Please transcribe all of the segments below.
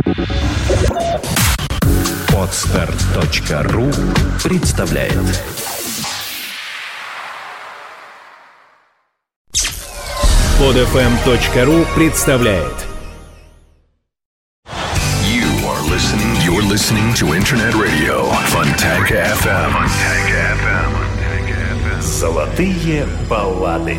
Podster.ru представляет. Podfm.ru представляет. You're listening to Internet Radio Fontanka FM. Золотые баллады.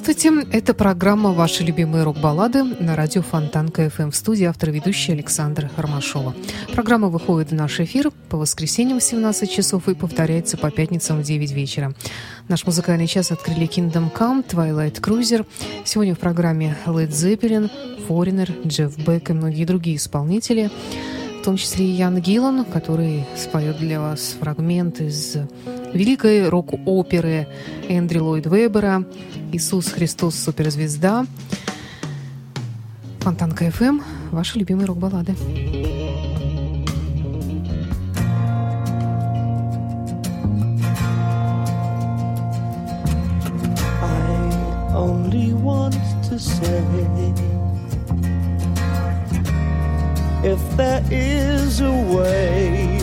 Здравствуйте, это программа «Ваши любимые рок-баллады» на радио Фонтанка ФМ. В студии автор и ведущая Александра Ромашова. Программа выходит в наш эфир по воскресеньям в 17 часов и повторяется по пятницам в 9 вечера. Наш музыкальный час открыли Kingdom Come, Twilight Cruiser. Сегодня в программе Led Zeppelin, Foreigner, Джефф Бек и многие другие исполнители, в том числе и Ян Гиллан, который споет для вас фрагмент из великой рок-оперы Эндрю Ллойд Вебера «Иисус Христос суперзвезда». Фонтанка ФМ, ваши любимые рок-баллады. I only want to say, if there is a way,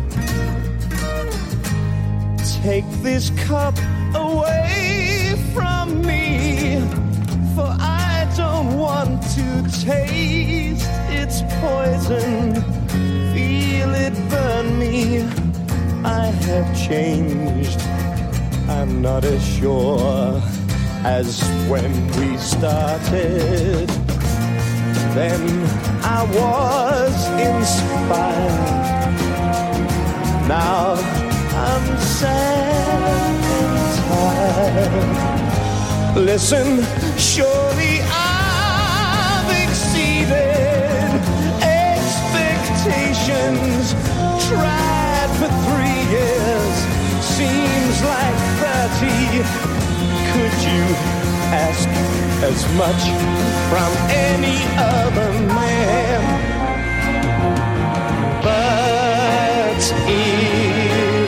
take this cup away from me, for I don't want to taste its poison, feel it burn me. I have changed, I'm not as sure as when we started. Then I was inspired, now I'm sad and tired. Listen, surely I've exceeded expectations. Tried for 3 years, seems like 30. Could you ask as much from any other man? But if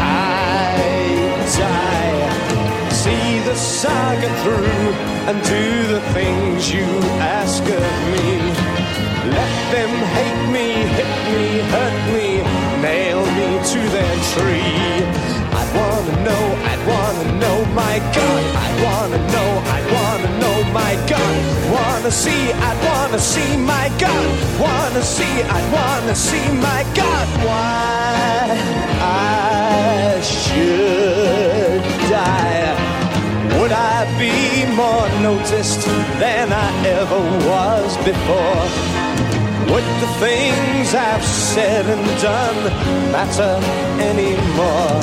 see the saga through and do the things you ask of me. Let them hate me, hit me, hurt me, nail me to their tree. I'd wanna know, my God. I'd wanna know, my God. Wanna see, I'd wanna see, my God. I'd wanna see, my God. Why I should die. Would I be more noticed than I ever was before? Would the things I've said and done matter anymore?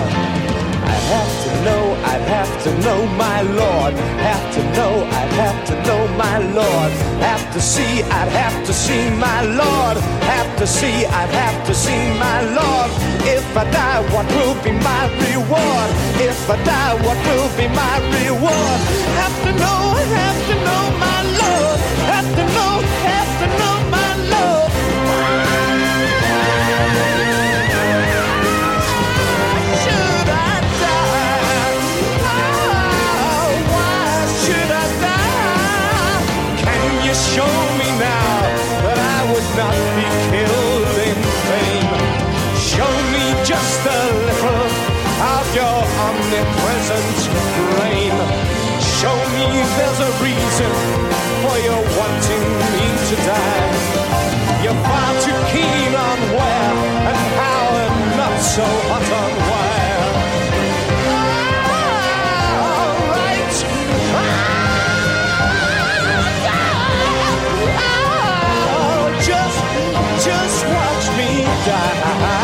I'd have to know my Lord. Have to know, I'd have to know my Lord. Have to see, I'd have to see my Lord. Have to see, I'd have to see my Lord. If I die, what will be my reward? If I die, what will be my reward? Have to know my Lord. Have to know my Lord. Should I die? Oh, why should I die? Can you show me now that I would not be killed in vain? Show me just a little of your omnipresent reign. Show me there's a reason for your wanting me to die. You're far too keen on where and how and not so hot on where. All right. Just watch me die.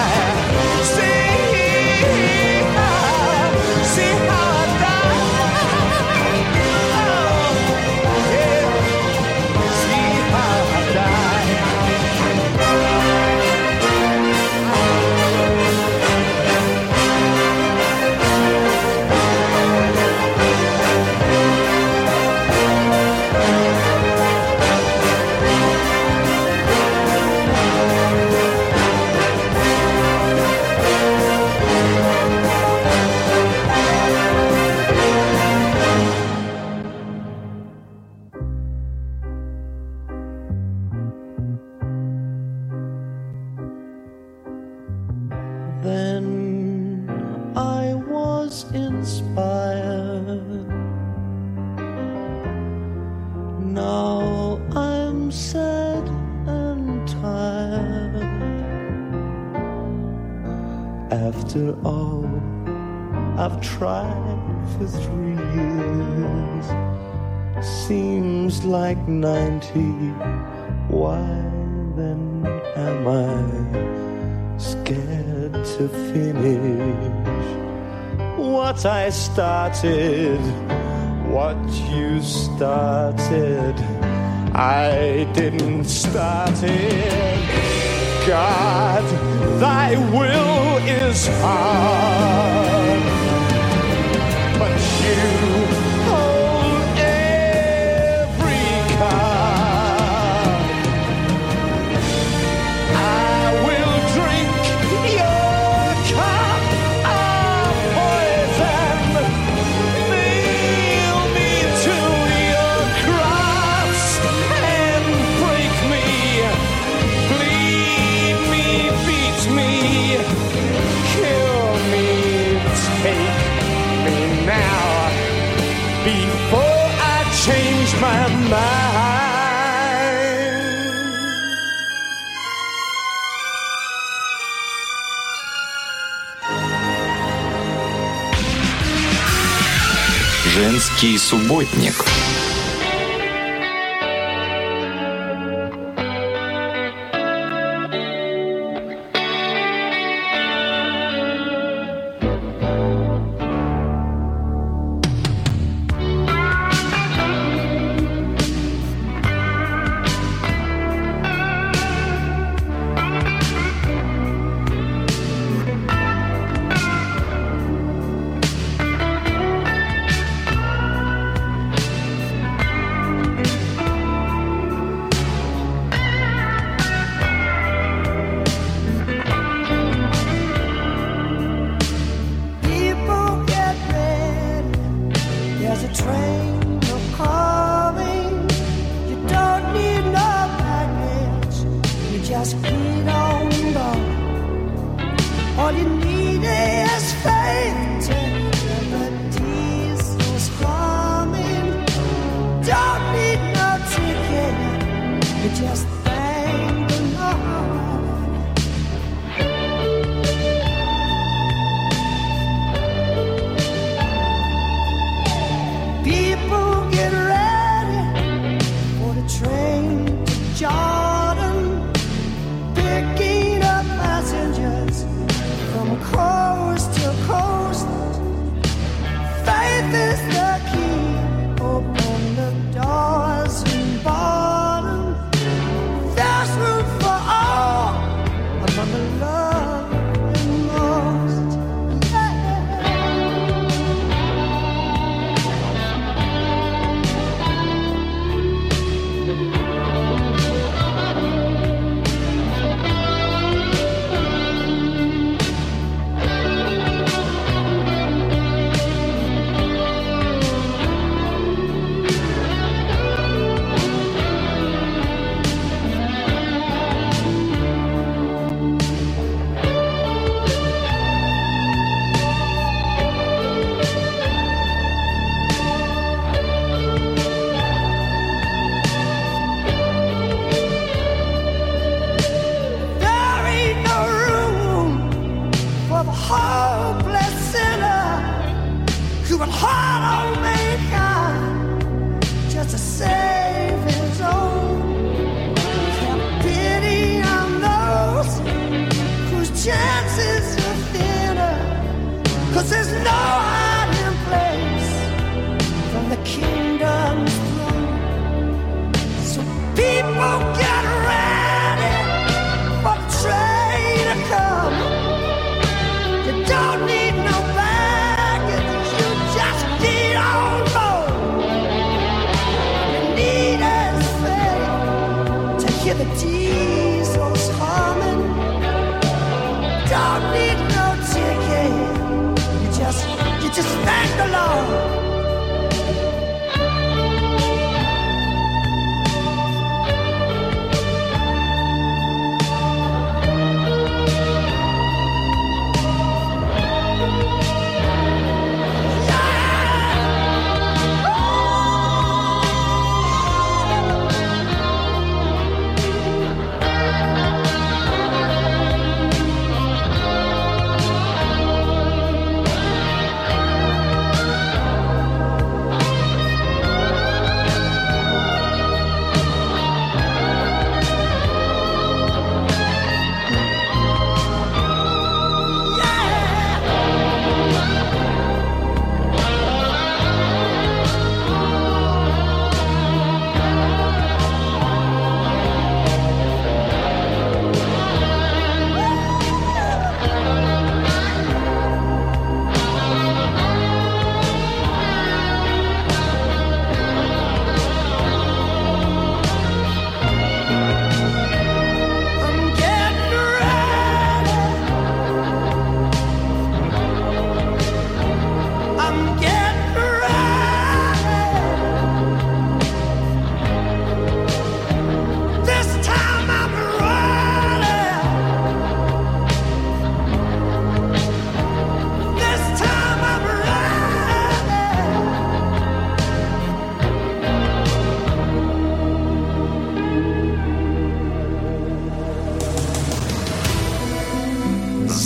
See how I die. Oh, yeah. See how I die. Then I was inspired. Now I'm sad and tired. After all I've tried for 3 years, seems like 90. Why then am I scared to finish what I started? What you started, I didn't start it. God, thy will is hard, but you hold every card. I will drink your cup of poison, nail me to your cross and break me, bleed me, beat me, kill me, take me now before I change my mind. Женский субботник.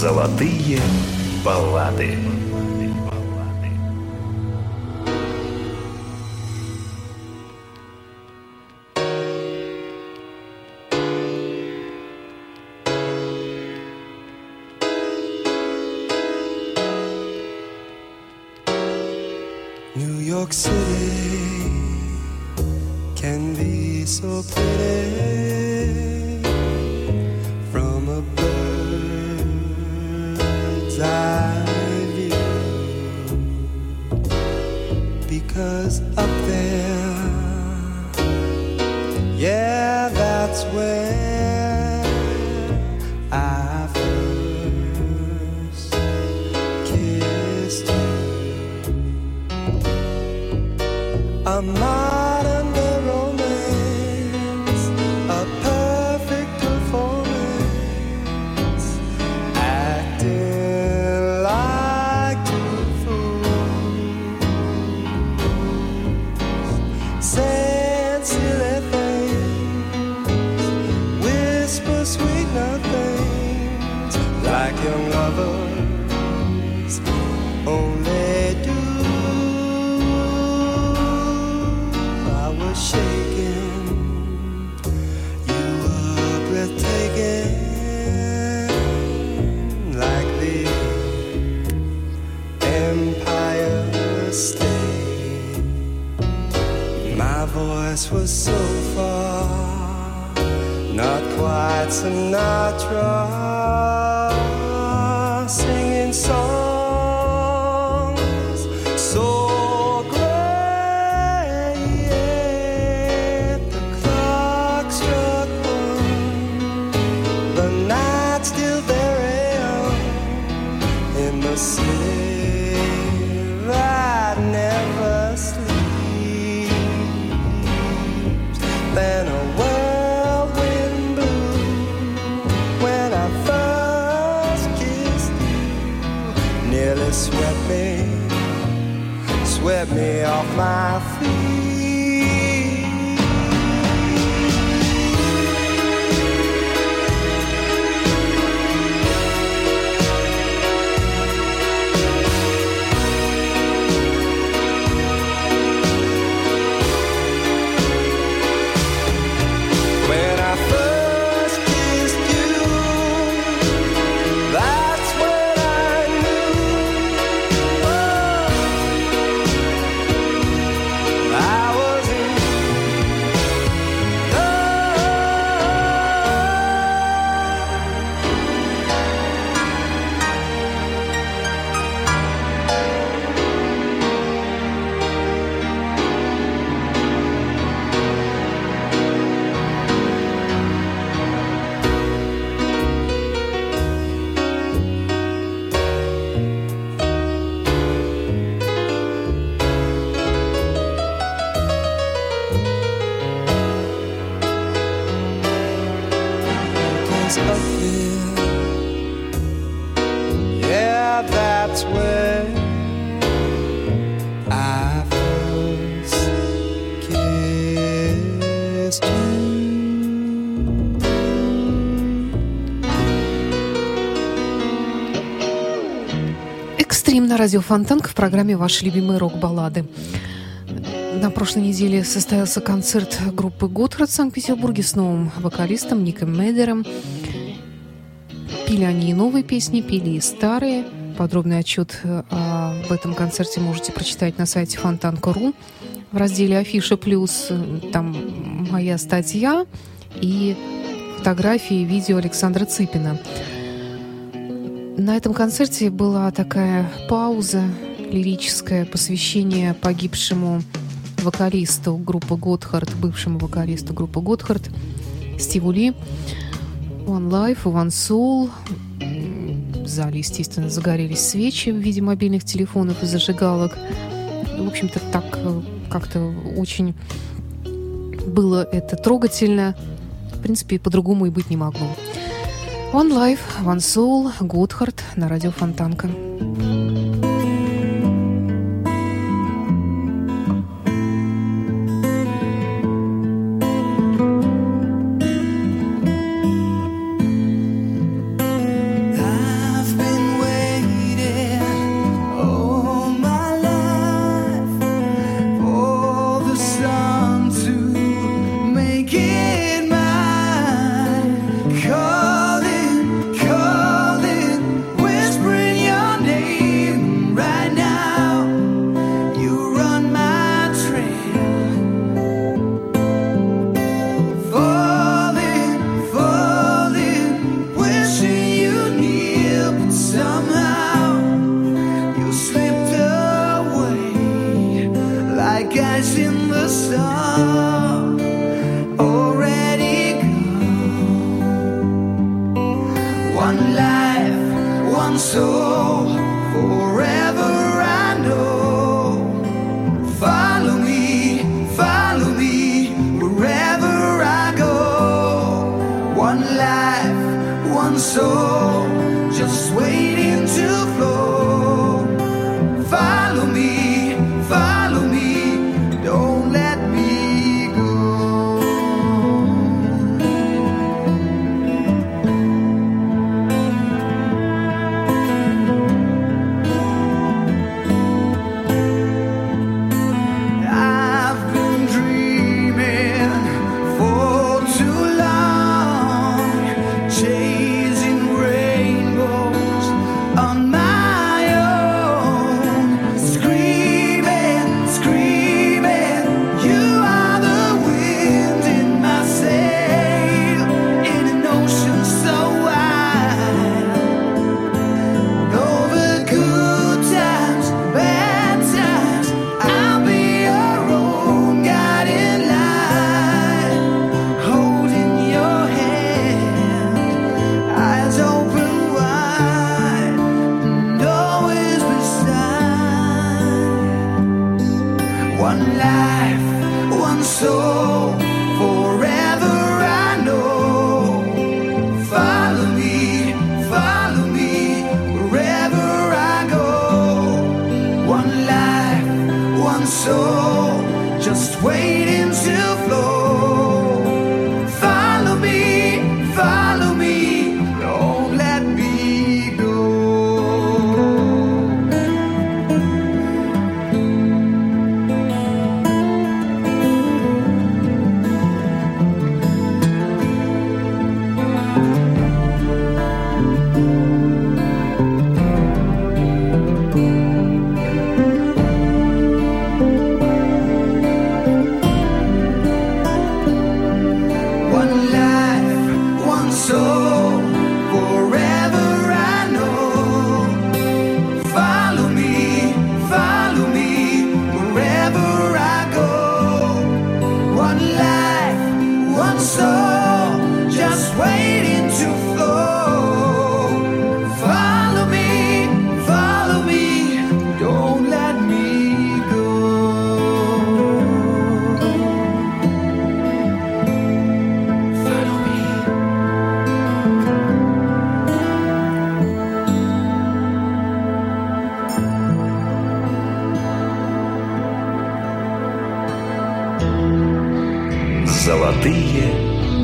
Золотые баллады. New York City can be so pretty from a bird's eye view, because up there, yeah, that's where I first kissed you. A modern day romance, a perfect performance, acting like two fools, saying silly things, whisper sweet nothings, like young lovers only do. Shaking, you were breathtaking, like the Empire State. My voice was so far, not quite Sinatra, singing songs so city that never sleeps. Then a whirlwind blew when I first kissed you. Nearly swept me off my feet. Yeah, that's where I first kissed you. Экстрим на радио Фонтанка в программе «Ваши любимые рок-баллады». На прошлой неделе состоялся концерт группы «Готхард» в Санкт-Петербурге с новым вокалистом Ником Медером. Пели они и новые песни, пели и старые. Подробный отчет об этом концерте можете прочитать на сайте Фонтанка.ру в разделе «Афиша плюс». Там моя статья и фотографии и видео Александра Цыпина. На этом концерте была такая пауза лирическое, посвящение погибшему вокалисту группы «Готхард», бывшему вокалисту группы «Готхард» Стиву Ли. One Life, One Soul. В зале, естественно, загорелись свечи в виде мобильных телефонов и зажигалок. В общем-то, так как-то очень было это трогательно. В принципе, по-другому и быть не могло. One Life, One Soul, Готхард на радио Фонтанка. I've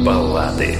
баллады.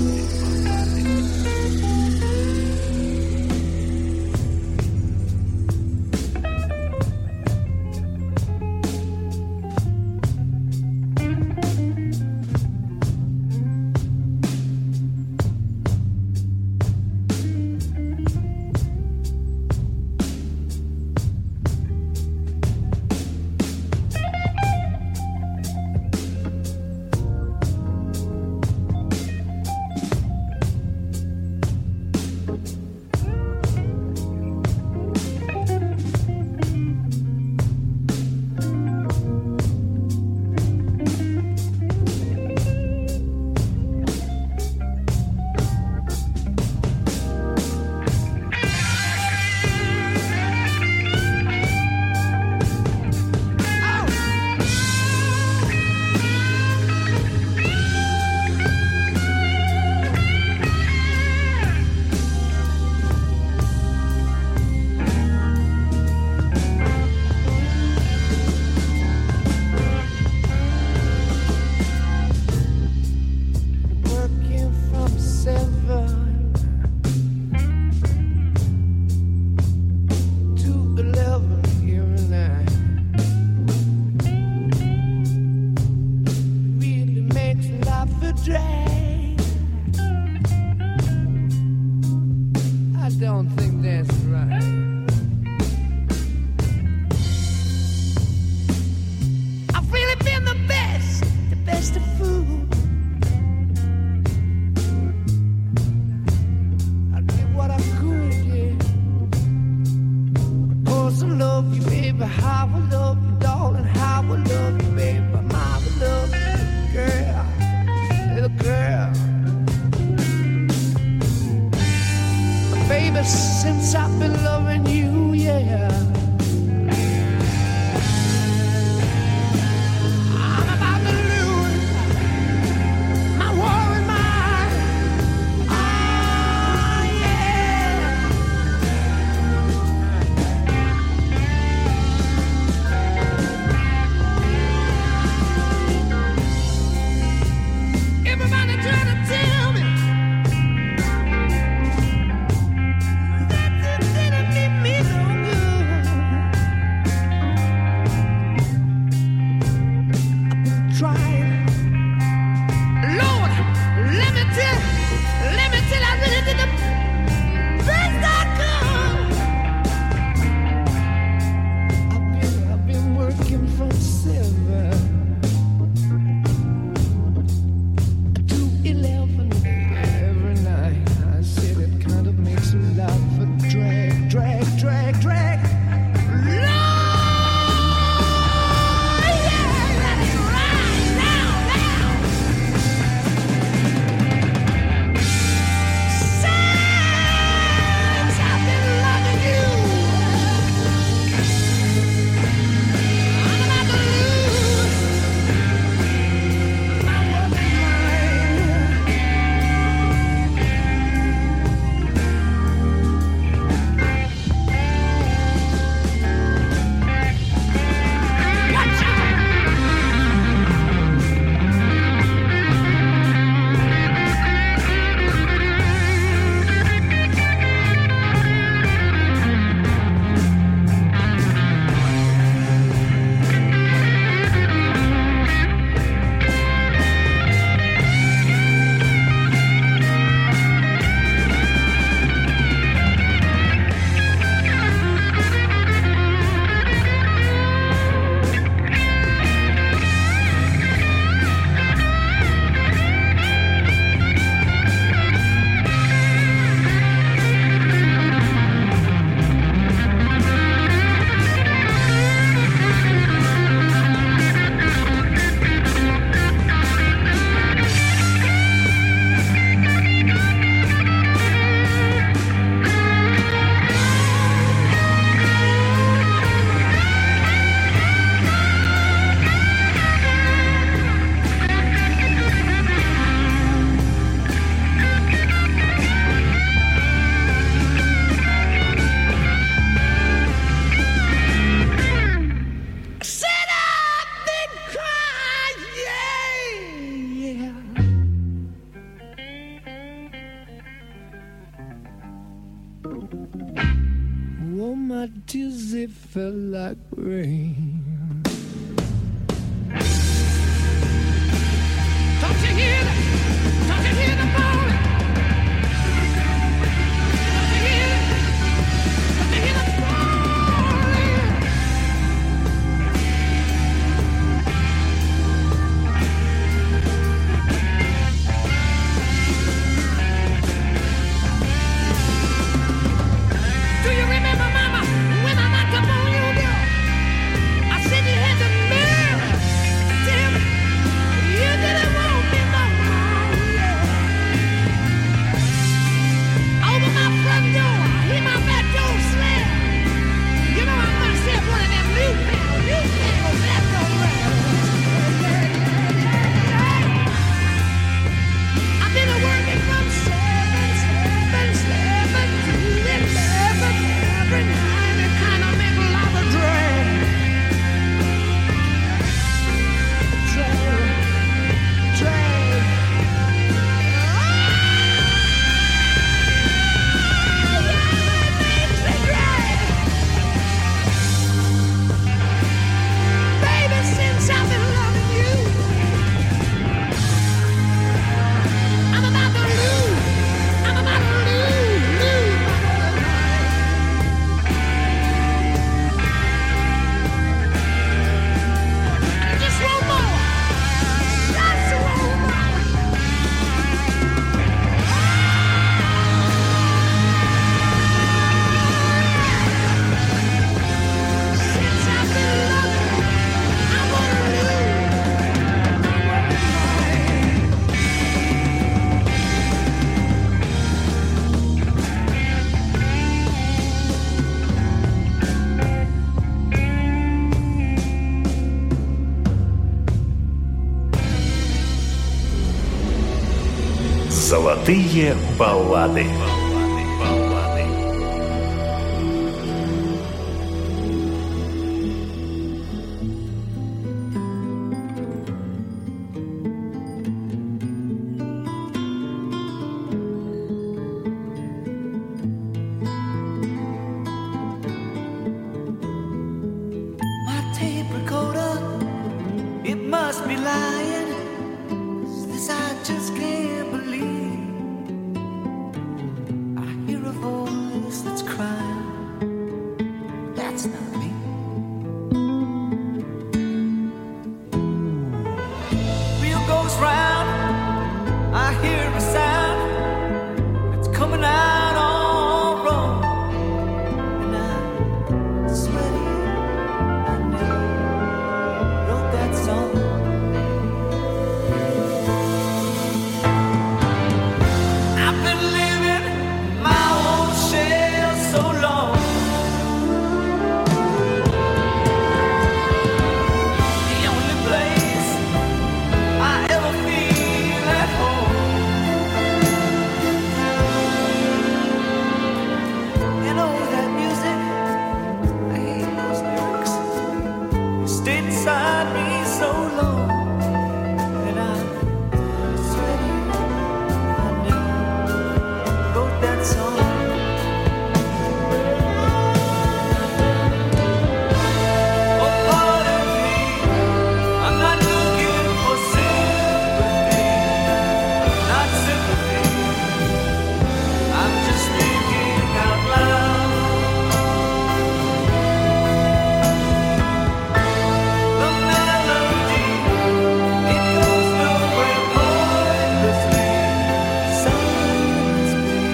Since I've been loving you, yeah. I'm about to lose my worried mind. Oh, yeah. Everybody trying to tell me me as it felt like rain. Don't you hear that? Don't you hear the moaning? Don't you hear it? Don't you hear the falling? Do you remember, Mama, when I knocked up on your door? I said you had the nerve. Tell me, you didn't want me no more. Over my front door, hear my back door slam. You know I must have one of them newfangled back door rams. I've been working from 7 to 11 every night. It kind of make a lot of drag. Baby, since I've been loving you, I'm about to lose. I'm about to lose just one more. Just one more. Since I've been loving, I wanna lose. Золотые баллады. My tape recorder, it must be lying. This I just can't believe. I hear a voice that's crying. That's not me. Wheel goes round. I hear a sound. It's coming out all wrong. And I swear to you, I never wrote that song. I've been living my own shell so long. The only place I ever feel at home. And oh, that music, I hate those lyrics. It stayed inside me so long. And I swear to you, I never wrote that song. Oh, pardon me, I'm not looking for sympathy, not sympathy. I'm just thinking out loud. The melody, it goes nowhere pointlessly. Silence me.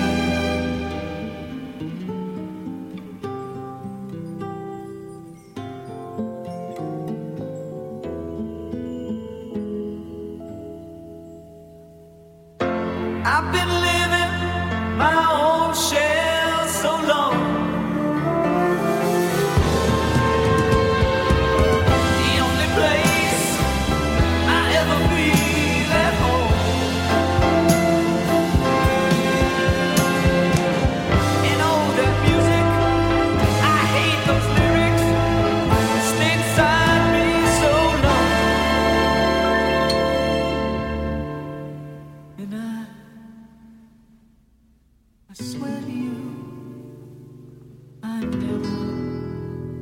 I've been living my own shell so long. The only place I ever feel at home. And oh, that music, I hate those lyrics. It stayed inside me so long. And I swear to you, I never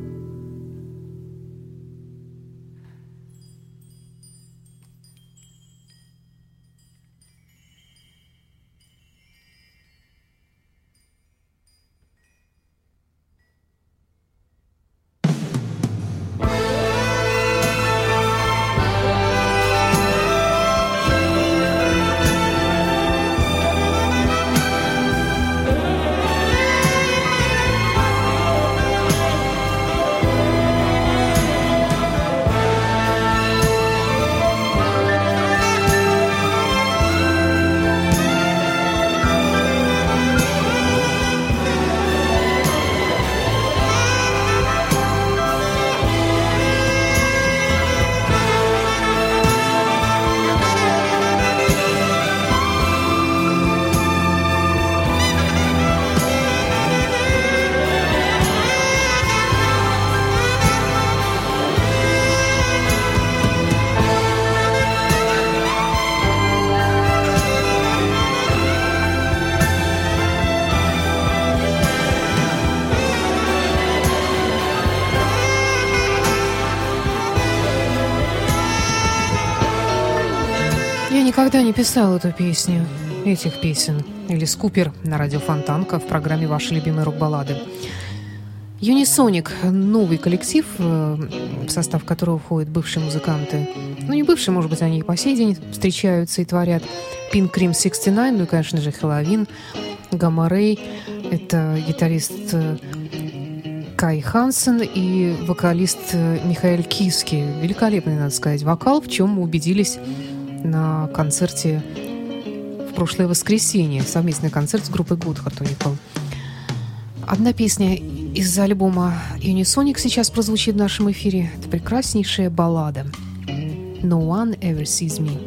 никогда не писал эту песню, этих песен. Элис Купер на радио Фонтанка в программе «Ваши любимые рок-баллады». Юнисоник – новый коллектив, в состав которого входят бывшие музыканты. Ну, не бывшие, может быть, они и по сей день встречаются и творят. Pink Cream 69, ну и, конечно же, Хэллоуин, Гамма Рэй. Это гитарист Кай Хансен и вокалист Михаэль Киски. Великолепный, надо сказать, вокал, в чем мы убедились на концерте в прошлое воскресенье. Совместный концерт с группой Goodheart у них был. Одна песня из альбома Unisonic сейчас прозвучит в нашем эфире. Это прекраснейшая баллада «No One Ever Sees Me».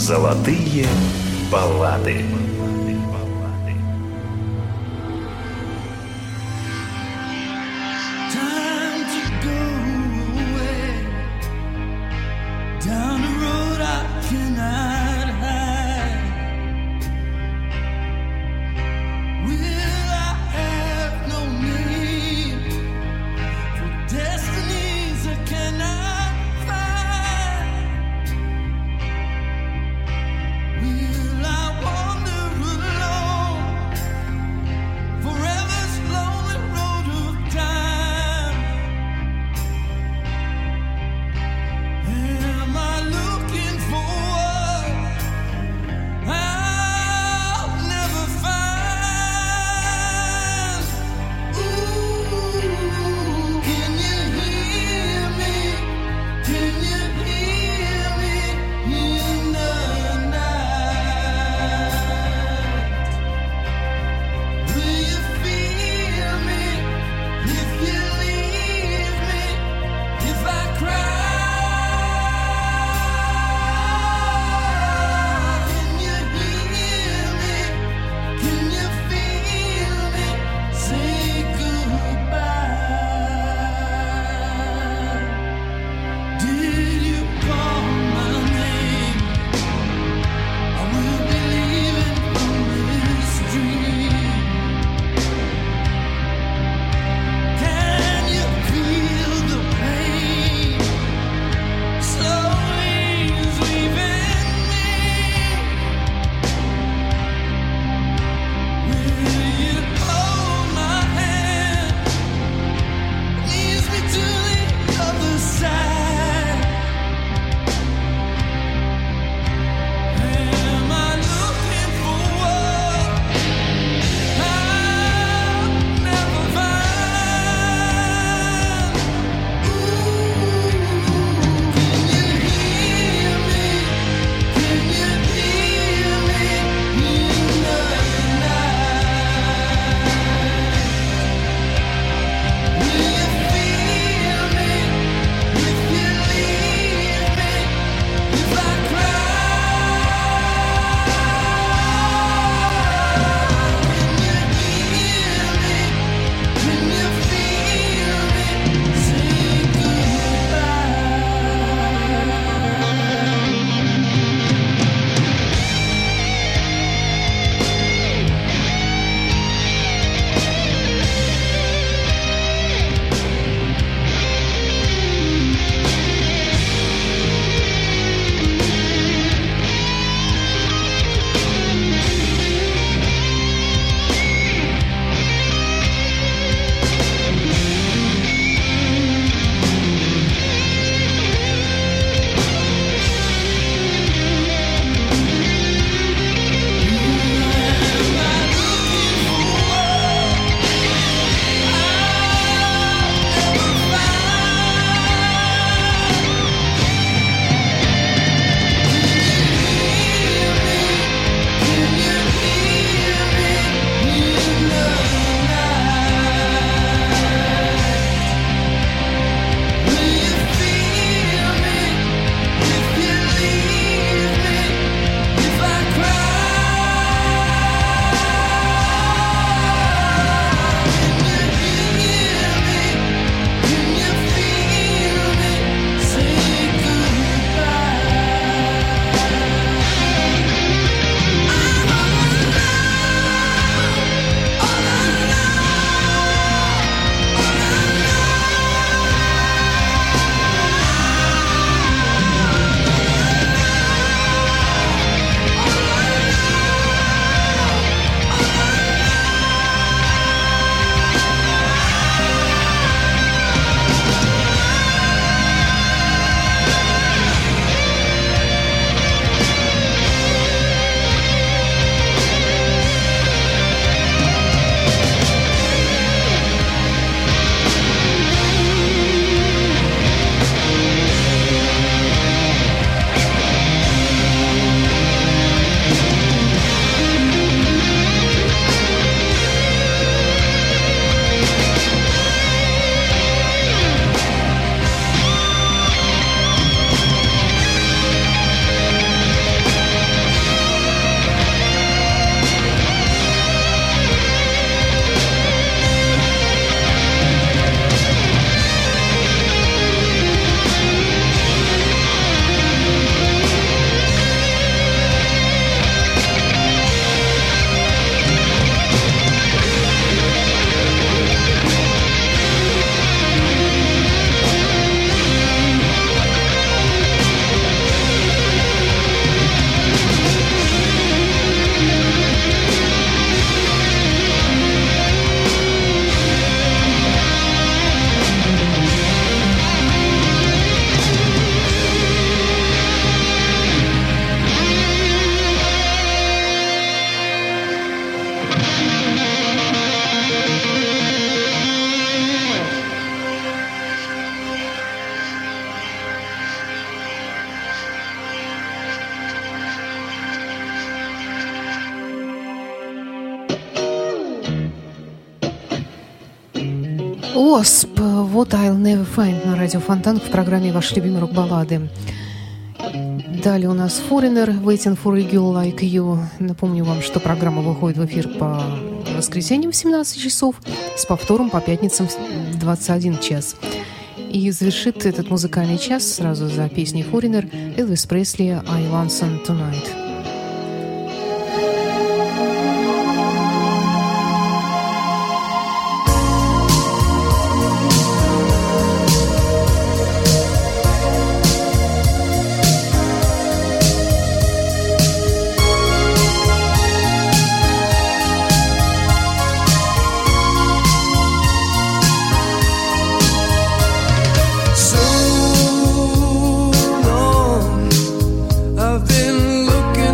Золотые баллады. Will I wander Wasp, What I'll Never Find на радио Фонтан в программе «Ваши любимые рок-баллады». Далее у нас Foreigner, Waiting for a Girl Like You. Напомню вам, что программа выходит в эфир по воскресеньям в 17 часов, с повтором по пятницам в 21 час. И завершит этот музыкальный час сразу за песней Foreigner Элвис Пресли «I Want Some Tonight». I've been looking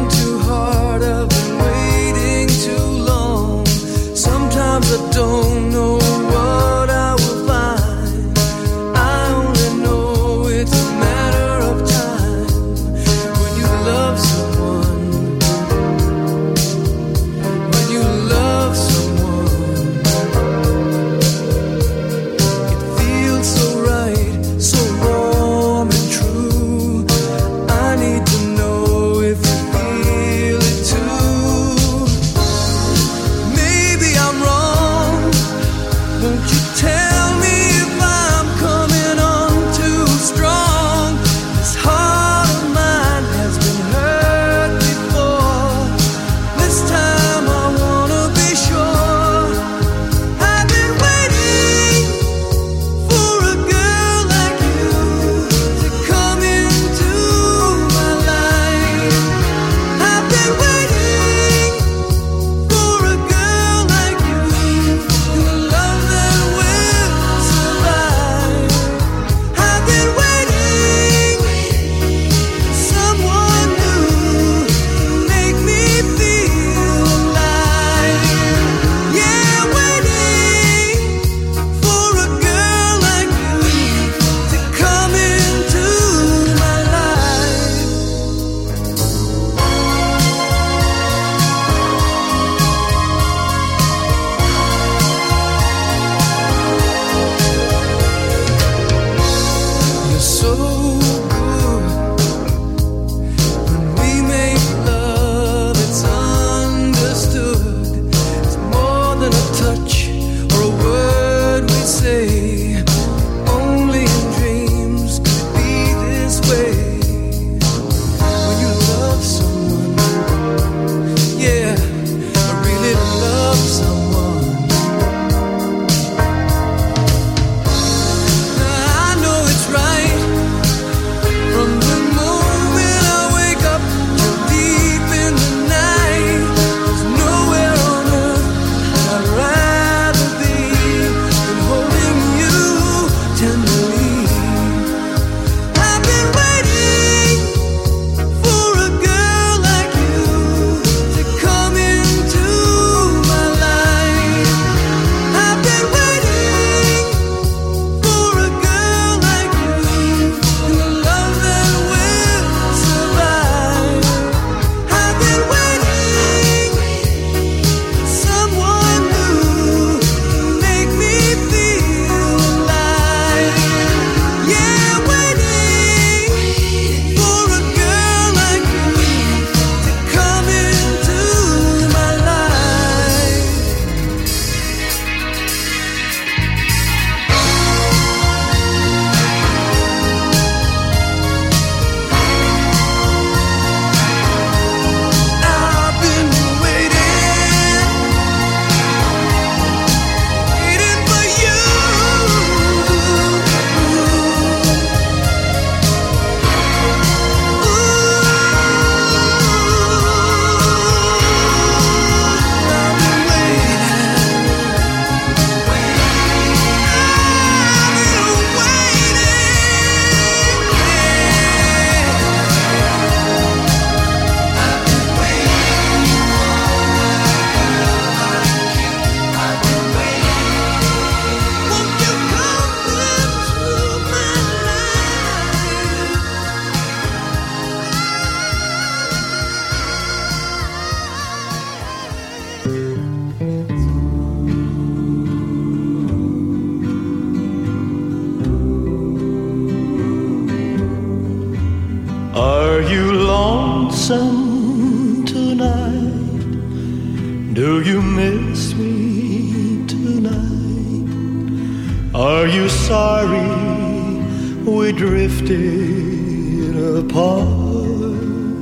lonesome tonight? Do you miss me tonight? Are you sorry we drifted apart?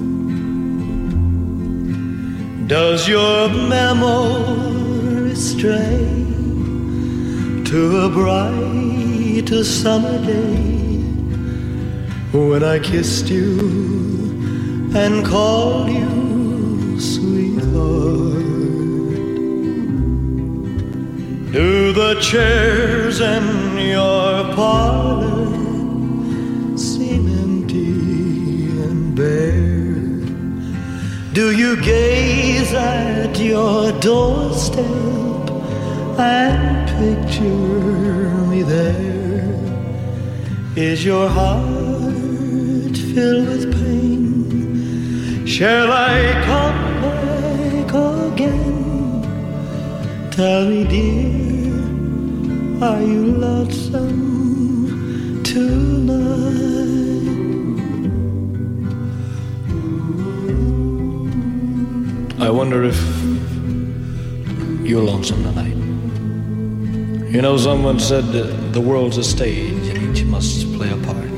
Does your memory stray to a bright summer day when I kissed you and called you sweetheart? Do the chairs in your parlor seem empty and bare? Do you gaze at your doorstep and picture me there? Is your heart filled with pain? Shall I come back again? Tell me, dear, are you lonesome tonight? I wonder if you're lonesome tonight. You know, someone said that the world's a stage and each must play a part.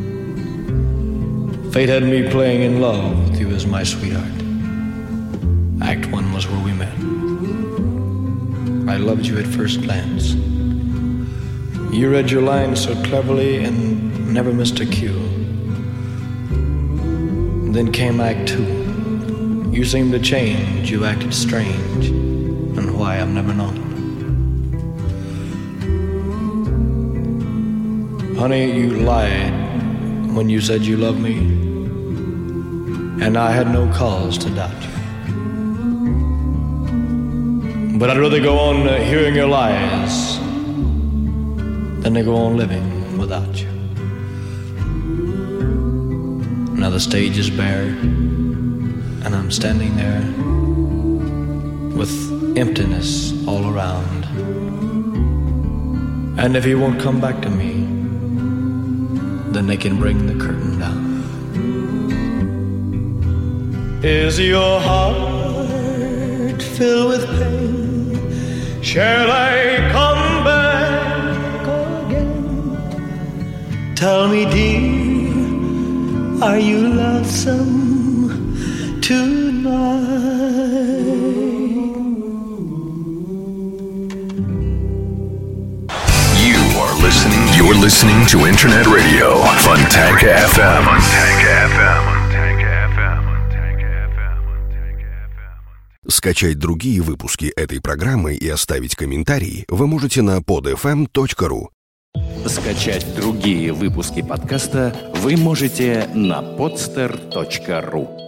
Fate had me playing in love with you as my sweetheart. Act 1 was where we met. I loved you at first glance. You read your lines so cleverly and never missed a cue. Then came Act 2. You seemed to change, you acted strange, and why I've never known. Honey, you lied when you said you loved me, and I had no cause to doubt you. But I'd rather go on hearing your lies than to go on living without you. Now the stage is bare, and I'm standing there with emptiness all around. And if he won't come back to me, then they can bring the curtain down. Is your heart filled with pain? Shall I come back again? Tell me, dear, are you lonesome tonight? You're listening to Internet Radio Fontanka FM. Скачать другие выпуски этой программы и оставить комментарии вы можете на podfm.ru. Скачать другие выпуски подкаста вы можете на podster.ru.